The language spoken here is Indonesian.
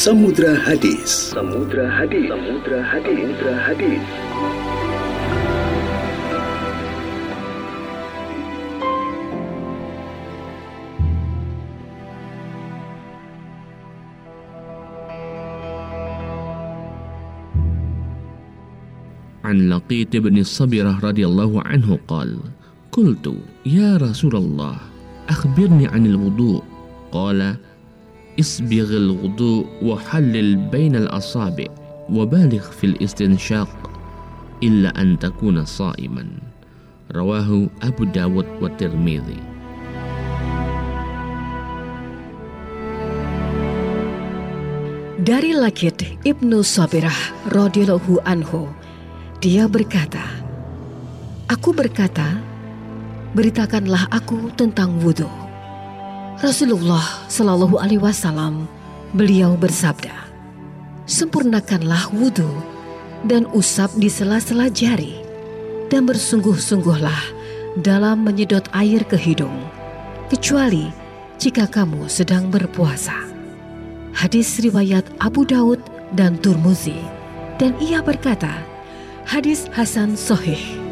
Samudra Hadis. Samudra Hadis. Samudra Hadis. Samudra Hadis. عن لقيط بن الصبرة رضي الله عنه قال: قلت يا رسول الله أخبرني عن الوضوء. قال: اسبغ الوضوء وحلل بين الأصابع وبالغ في الاستنشاق إلا أن تكون صائما. رواه أبو داود والترمذي. Dari Laqit ibnu Sabirah radhiyallahu anhu, dia berkata, aku berkata, beritakanlah aku tentang wudu. Rasulullah Shallallahu Alaihi Wasallam, beliau bersabda, sempurnakanlah wudu dan usap di sela-sela jari, dan bersungguh-sungguhlah dalam menyedot air ke hidung, kecuali jika kamu sedang berpuasa. Hadis riwayat Abu Daud dan Tirmidzi, dan ia berkata, hadis hasan sahih.